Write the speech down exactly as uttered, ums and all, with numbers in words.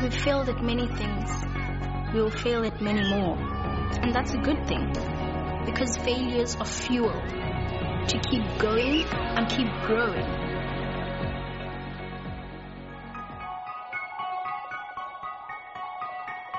We've failed at many things. We will fail at many more. And that's a good thing, because failures are fuel to keep going and keep growing.